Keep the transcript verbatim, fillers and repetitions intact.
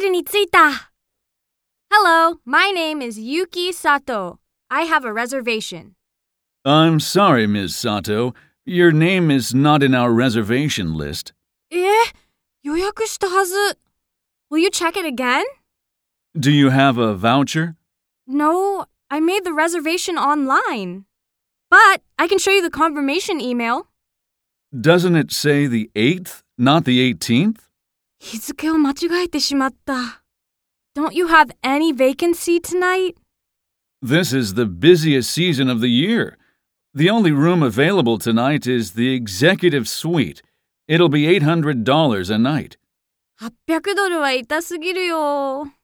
ルに着いた。Hello, my name is Yuki Sato. I have a reservation. I'm sorry, Miz Sato. Your name is not in our reservation list. え、予約したはず。Will you check it again? Do you have a voucher? No, I made the reservation online. But I can show you the confirmation email. Doesn't it say the eighth, not the eighteenth? 日付を間違えてしまった。Don't you have any vacancy tonight? This is the busiest season of the year. The only room available tonight is the executive suite. It'll be eight hundred dollars a night. はっぴゃくドルは痛すぎるよ。